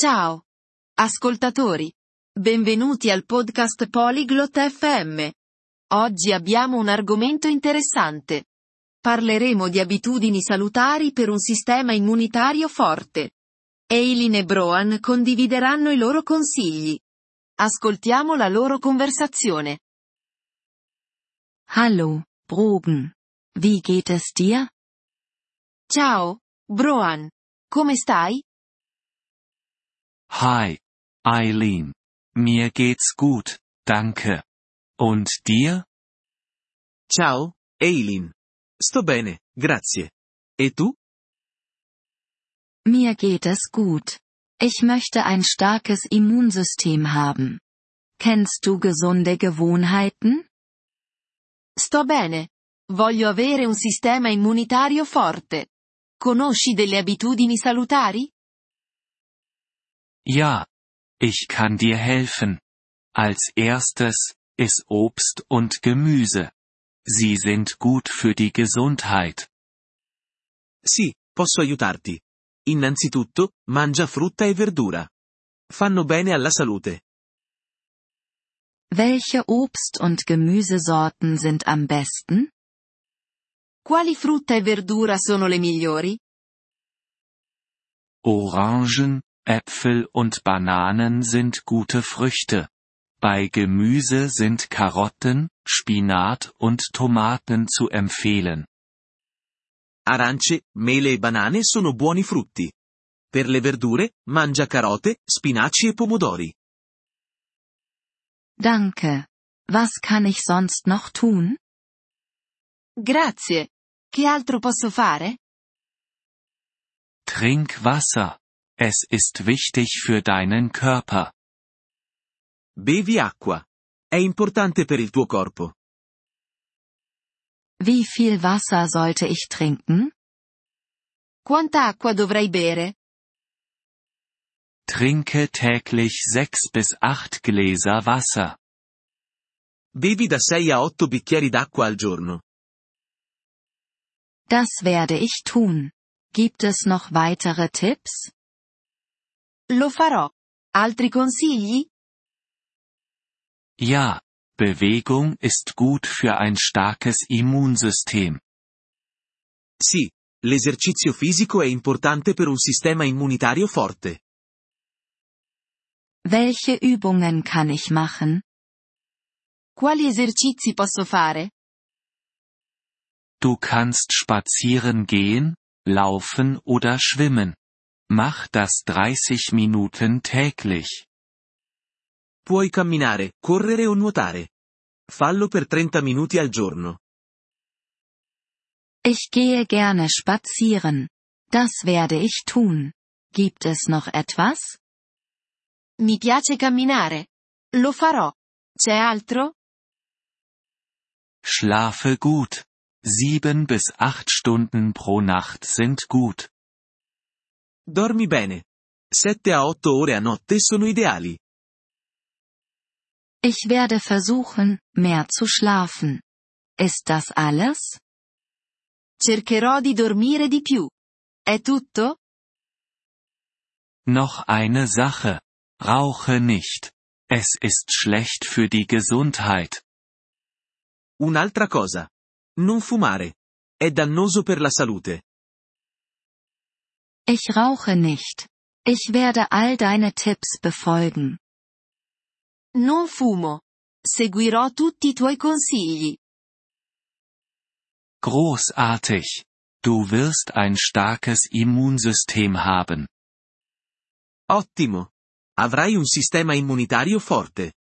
Ciao, ascoltatori. Benvenuti al podcast Polyglot FM. Oggi abbiamo un argomento interessante. Parleremo di abitudini salutari per un sistema immunitario forte. Eileen e Broan condivideranno i loro consigli. Ascoltiamo la loro conversazione. Hallo, Brogan. Wie geht es dir? Ciao, Broan. Come stai? Hi, Eileen. Mir geht's gut, danke. Und dir? Ciao, Eileen. Sto bene, grazie. E tu? Mir geht es gut. Ich möchte ein starkes Immunsystem haben. Kennst du gesunde Gewohnheiten? Sto bene. Voglio avere un sistema immunitario forte. Conosci delle abitudini salutari? Ja. Ich kann dir helfen. Als erstes, iss Obst und Gemüse. Sie sind gut für die Gesundheit. Sì, posso aiutarti. Innanzitutto, mangia frutta e verdura. Fanno bene alla salute. Welche Obst- und Gemüsesorten sind am besten? Quali frutta e verdura sono le migliori? Orangen, Äpfel und Bananen sind gute Früchte. Bei Gemüse sind Karotten, Spinat und Tomaten zu empfehlen. Arance, mele e banane sono buoni frutti. Per le verdure, mangia carote, spinaci e pomodori. Danke. Was kann ich sonst noch tun? Grazie. Che altro posso fare? Trink Wasser. Es ist wichtig für deinen Körper. Bevi acqua. È importante per il tuo corpo. Wie viel Wasser sollte ich trinken? Quanta acqua dovrei bere? Trinke täglich 6 bis 8 Gläser Wasser. Bevi da 6 a 8 bicchieri d'acqua al giorno. Das werde ich tun. Gibt es noch weitere Tipps? Lo farò. Altri consigli? Ja, Bewegung ist gut für ein starkes Immunsystem. Sì, l'esercizio fisico è importante per un sistema immunitario forte. Welche Übungen kann ich machen? Quali esercizi posso fare? Du kannst spazieren gehen, laufen oder schwimmen. Mach das 30 Minuten täglich. Puoi camminare, correre o nuotare. Fallo per 30 minuti al giorno. Ich gehe gerne spazieren. Das werde ich tun. Gibt es noch etwas? Mi piace camminare. Lo farò. C'è altro? Schlafe gut. 7 bis 8 Stunden pro Nacht sind gut. Dormi bene. 7 a 8 ore a notte sono ideali. Ich werde versuchen, mehr zu schlafen. Ist das alles? Cercherò di dormire di più. È tutto? Noch eine Sache. Rauche nicht. Es ist schlecht für die Gesundheit. Un'altra cosa. Non fumare. È dannoso per la salute. Ich rauche nicht. Ich werde all deine Tipps befolgen. Non fumo. Seguirò tutti i tuoi consigli. Großartig. Du wirst ein starkes Immunsystem haben. Ottimo. Avrai un sistema immunitario forte.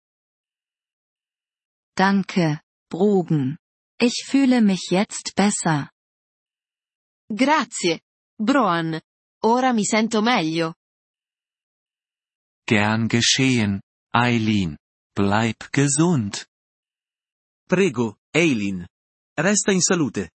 Danke, Brogan. Ich fühle mich jetzt besser. Grazie, Broan. Ora mi sento meglio. Gern geschehen, Eileen. Bleib gesund. Prego, Eileen. Resta in salute.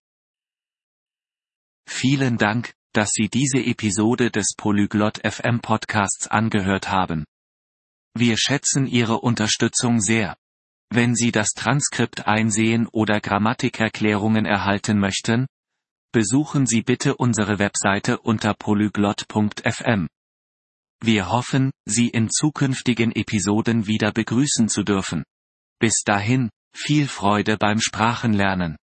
Vielen Dank, dass Sie diese Episode des Polyglot FM Podcasts angehört haben. Wir schätzen Ihre Unterstützung sehr. Wenn Sie das Transkript einsehen oder Grammatikerklärungen erhalten möchten, besuchen Sie bitte unsere Webseite unter polyglot.fm. Wir hoffen, Sie in zukünftigen Episoden wieder begrüßen zu dürfen. Bis dahin, viel Freude beim Sprachenlernen.